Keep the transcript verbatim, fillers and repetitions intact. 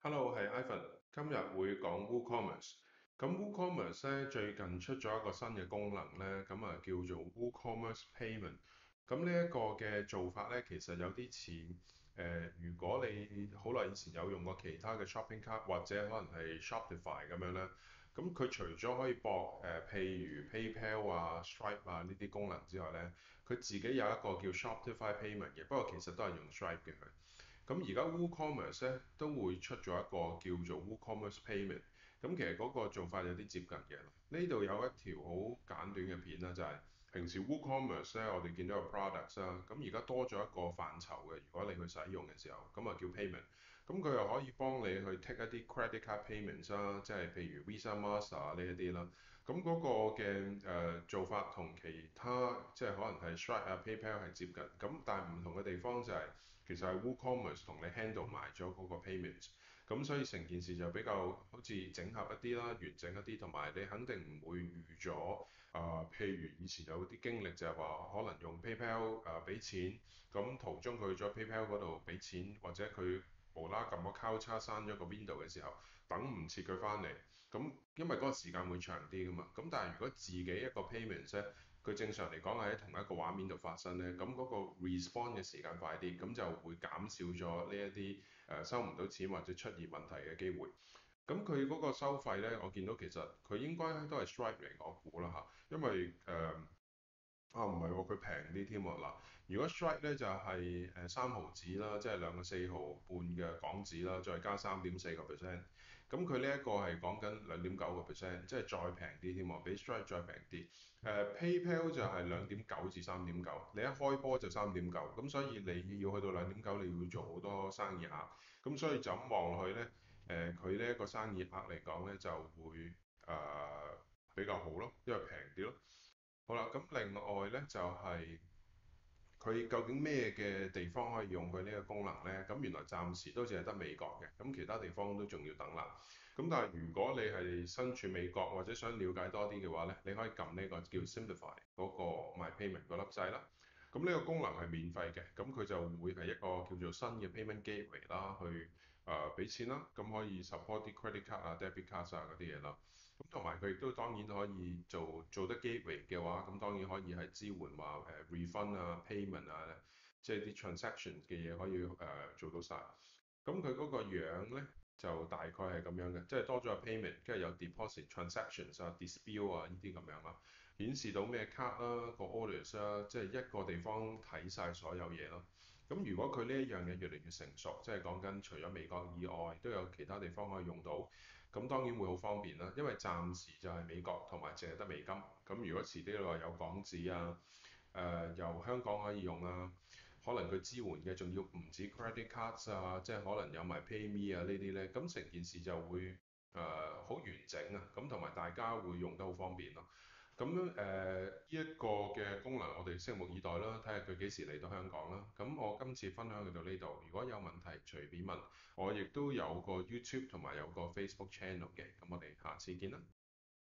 Hello，係 Ivan，今日會講 WooCommerce。咁 WooCommerce 咧最近出咗一個新嘅功能咧，咁啊叫做 WooCommerce Payment。咁呢一個嘅做法咧，其實有啲似誒，如果你好耐以前有用過其他嘅 shopping cart 或者可能係 Shopify 咁樣咧，咁佢除咗可以駁誒、呃，譬如 PayPal 啊、Stripe 啊呢啲功能之外咧，佢自己有一個叫 Shopify Payment 嘅，不過其實都係用 Stripe 嘅佢。咁而家 WooCommerce 咧都會出咗一個叫做 WooCommerce Payment，咁其實嗰個做法有啲接近嘅。呢度有一條好簡短嘅片啦，就係、是、平時 WooCommerce 咧我哋見到有 products 啦，咁而家多咗一個範疇嘅，如果你去使用嘅時候，咁啊叫 payment，咁佢又可以幫你去 take 一啲 credit card payments 啦，即係譬如 Visa、Master 呢一啲啦。咁嗰個嘅誒、呃、做法同其他即係可能係 Stripe 啊、PayPal 係接近，咁但係唔同嘅地方就係、是。其實係 WooCommerce 同你 handle 埋咗嗰個 payments，咁所以成件事就比較好似整合一啲啦，完整一啲，同埋你肯定唔會預咗啊、呃。譬如以前有啲經歷就係話，可能用 PayPal 誒俾錢，咁途中佢去咗 PayPal 嗰度俾錢，或者佢無啦撳個交叉刪咗個 window 嘅時候，等唔切佢翻嚟，咁因為嗰個時間會長啲噶嘛。咁但係如果自己一個 payments 咧，佢正常嚟講係喺同一個畫面度發生咧，咁嗰個 response 嘅時間快啲，咁就會減少咗呢一啲誒收唔到錢或者出現問題嘅機會。咁佢嗰個收費咧，我見到其實佢應該都係 Stripe 嚟，我估啦嚇，因為誒。呃啊，唔係喎，佢平啲添喎。嗱，如果 Stripe 咧就係誒三毫紙啦，即係兩個四毫半嘅港紙啦，再加三點四個 percent。咁佢呢一個係講緊兩點九個 percent，即係再平啲添喎，比 Stripe 再平啲。誒、呃、PayPal 就係兩點九至三點九，你一開波就三點九，咁所以你要去到兩點九，你要做好多生意額。咁所以就咁望落去咧，誒佢呢一個生意額嚟講咧就會誒、呃、比較好咯，因為平啲咯。好啦，咁另外咧就係、是、佢究竟咩嘅地方可以用佢呢個功能呢？咁原來暫時都淨係得美國嘅，咁其他地方都仲要等啦。咁但係如果你係身處美國或者想了解多啲嘅話呢，你可以撳呢個叫 Simplify 嗰個 My Payment 嗰粒掣啦。咁呢個功能係免費嘅，咁佢就會係一個叫做新嘅 Payment Gateway 啦，去誒俾、呃、錢啦，咁可以 support 啲 credit card 啊、debit card 啊嗰啲嘢啦。咁同埋佢亦都當然可以做做得 gateway 嘅話，咁當然可以係支援話誒、呃、refund 啊、payment 啊，即係啲 transaction 嘅嘢可以誒、呃、做到晒。咁佢嗰個樣咧就大概係咁樣嘅，即係多咗個 payment，跟住有 deposit、transactions 啊、dispute 啊呢啲咁樣啦，顯示到咩 card 啦、個 orders 啦，即係一個地方睇晒所有嘢咯。咁如果佢呢一樣嘢越嚟越成熟，即係講緊除咗美國以外，都有其他地方可以用到。咁當然會好方便啦，因為暫時就係美國同埋淨係得美金。咁如果遲啲你話有港紙啊，誒、呃、由香港可以用啊，可能佢支援嘅仲要唔止 credit cards 啊，即係可能有埋 PayMe 啊呢啲呢。咁成件事就會誒好、呃、完整啊，咁同埋大家會用得好方便咯。咁誒呢一個嘅功能，我哋拭目以待啦，睇下佢幾時嚟到香港啦。咁我今次分享去到呢度，如果有問題隨便問，我亦都有個 YouTube 同埋有個 Facebook channel 嘅。咁我哋下次見啦。